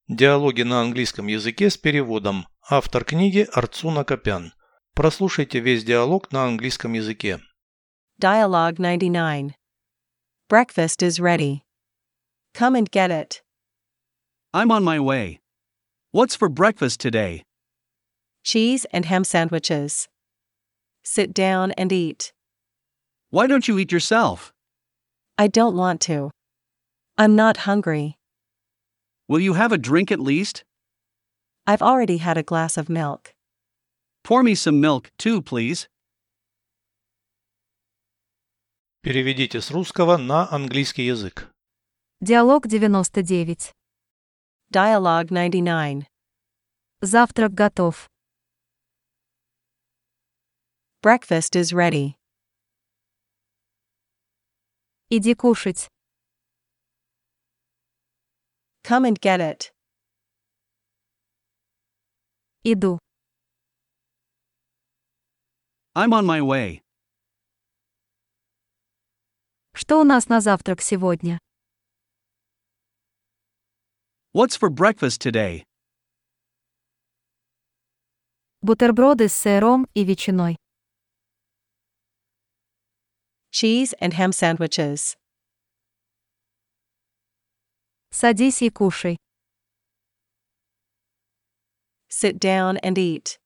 Диалоги на английском языке с переводом. Автор книги Арцуна Копян. Прослушайте весь диалог на английском языке. Dialogue 99. Breakfast is ready. Come and get it. I'm on my way. What's for breakfast today? Cheese and ham sandwiches. Sit down and eat. Why don't you eat yourself? I don't want to. I'm not hungry. Will you have a drink at least? I've already had a glass of milk. Pour me some milk, too, please. Переведите с русского на английский язык. Диалог 99. Dialogue 99. Завтрак готов. Breakfast is ready. Иди кушать. Come and get it. Иду. I'm on my way. Что у нас на завтрак сегодня? What's for breakfast today? Бутерброды с сыром и ветчиной. Cheese and ham sandwiches. Садись и кушай. Sit down and eat.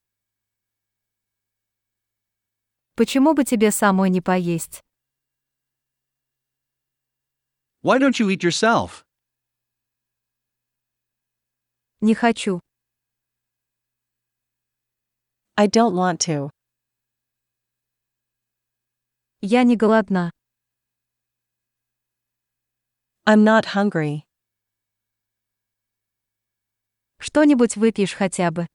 Почему бы тебе самой не поесть? Why don't you eat yourself? Не хочу. I don't want to. Я не голодна. I'm not hungry. Что-нибудь выпьешь хотя бы?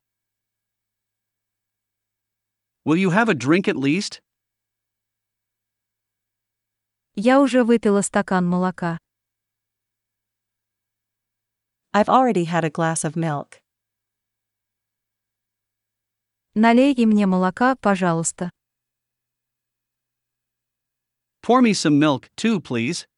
Will you have a drink at least? Я уже выпила стакан молока. I've already had a glass of milk. Налей и мне молока, пожалуйста. Pour me some milk, too, please.